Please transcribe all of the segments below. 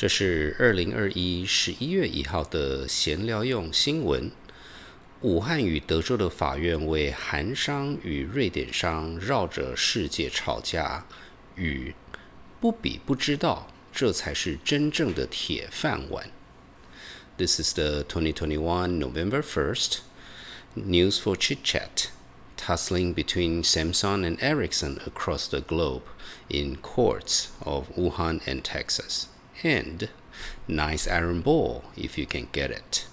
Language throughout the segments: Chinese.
这是2021月1号的闲聊用新闻。武汉与德州的法院为韩商与瑞典商绕着世界吵架，与不比不知道，这才是真正的铁饭碗。This is the 2021 November 1st news for chit chat. Tussling between Samsung and Ericsson across the globe in courts of Wuhan and Texas. And nice iron ball if you can get it.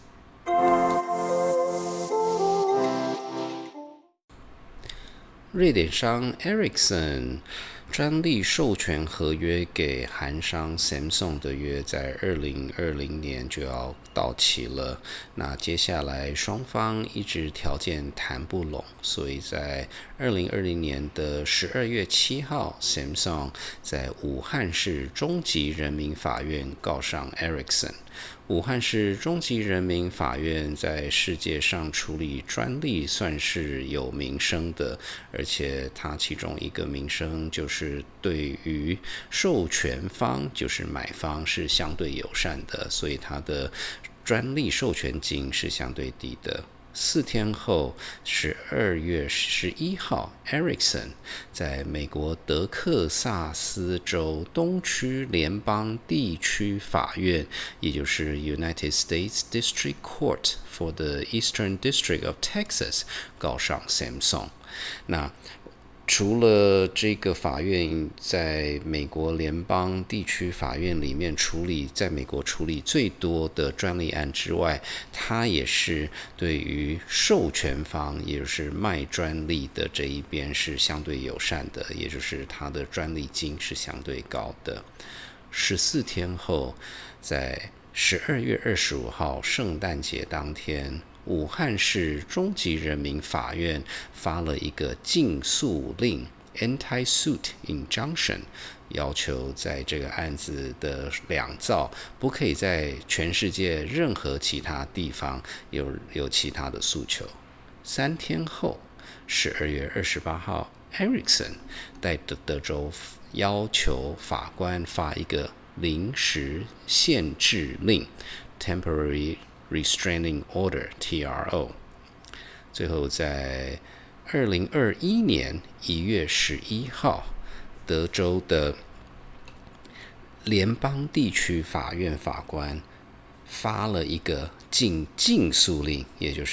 瑞典商 Ericsson 专利授权合约给韩商 Samsung 的约在2020年就要到期了，那接下来双方一直条件谈不拢，所以在2020年的12月7号 Samsung 在武汉市中级人民法院告上 Ericsson。武汉市中级人民法院在世界上处理专利算是有名声的，而且它其中一个名声就是对于授权方，就是买方是相对友善的，所以它的专利授权金是相对低的。4天后，12月11号 ，Ericsson 在美国德克萨斯州东区联邦地区法院，也就是 United States District Court for the Eastern District of Texas 告上 Samsung。那除了这个法院在美国联邦地区法院里面在美国处理最多的专利案之外，它也是对于授权方，也就是卖专利的这一边是相对友善的，也就是它的专利金是相对高的。14天后，在12月25号圣诞节当天，武汉市中级人民法院发了一个禁诉令 （Anti-Suit Injunction）， 要求在这个案子的两造不可以在全世界任何其他地方有其他的诉求。3天后，12月28号 ，Ericsson 在德州要求法官发一个临时限制令 （Temporary Restraining Order (TRO)。最后在2021年1月11号，德州的联邦地区法院法官发了一个禁诉令，也就是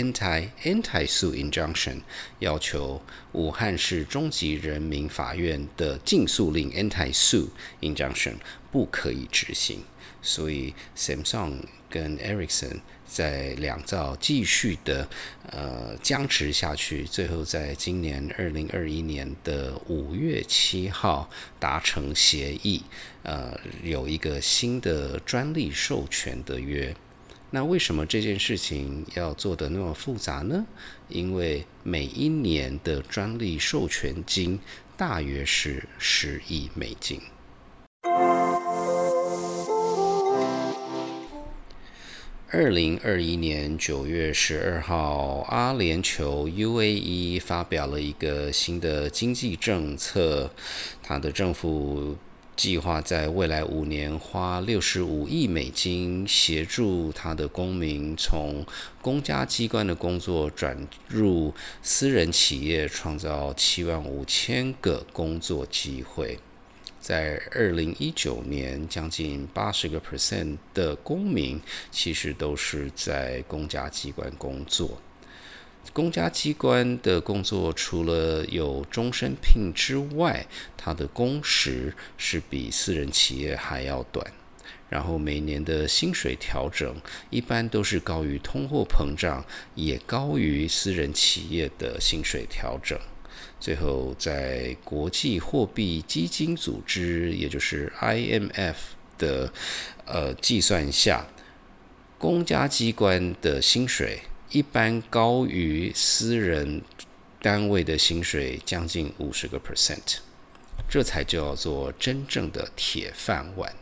Anti-Suit Injunction， 要求武汉市中级人民法院的禁诉令 Anti-Suit Injunction 不可以执行。所以 Samsung 跟 Ericsson 在两造继续的僵持下去，最后在今年2021年的5月7号达成协议，有一个新的专利授权的约。那为什么这件事情要做得那么复杂呢？因为每一年的专利授权金大约是10亿美金。2021年9月12号，阿联酋 UAE 发表了一个新的经济政策，它的政府计划在未来5年花65亿美金，协助他的公民从公家机关的工作转入私人企业，创造75000个工作机会。在2019年，将近80% 的公民其实都是在公家机关工作。公家机关的工作除了有终身聘之外，它的工时是比私人企业还要短。然后每年的薪水调整一般都是高于通货膨胀，也高于私人企业的薪水调整。最后，在国际货币基金组织，也就是 IMF 的计算下，公家机关的薪水一般高于私人单位的薪水将近50%，这才叫做真正的铁饭碗。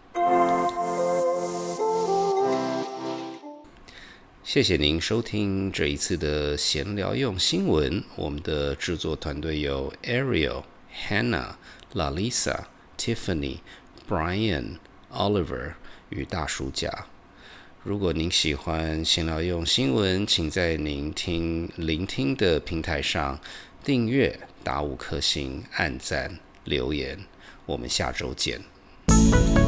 谢谢您收听这一次的闲聊用新闻。我们的制作团队有 Ariel、Hannah、Lalisa、Tiffany、Brian、 Oliver 与大叔甲。如果您喜欢闲聊用新闻，请在您聆听的平台上订阅、打5颗星、按赞、留言。我们下周见。